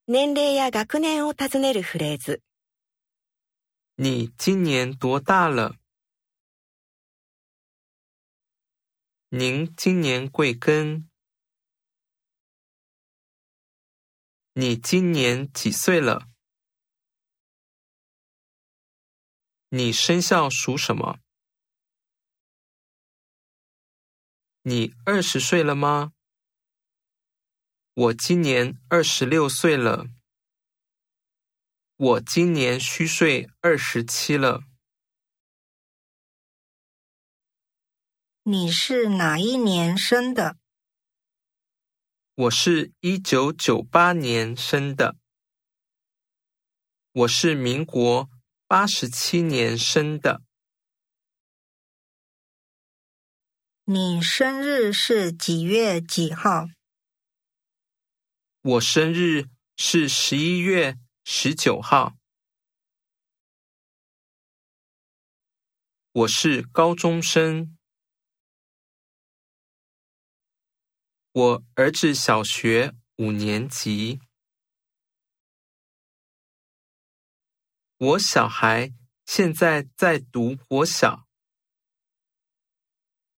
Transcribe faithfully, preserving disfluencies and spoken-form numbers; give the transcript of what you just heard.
年齢や学年を尋ねるフレーズ。 你今年多大了？您今年贵庚？你今年几岁了？你生肖属什么？你二十岁了吗？我今年二十六岁了。我今年虚岁二十七了。 你是哪一年生的？ 我是一九九八年生的。我是民国八十七年生的。 你生日是几月几号？ 我生日是十一月十九号。我是高中生。我儿子小学五年级。我小孩现在在读国小。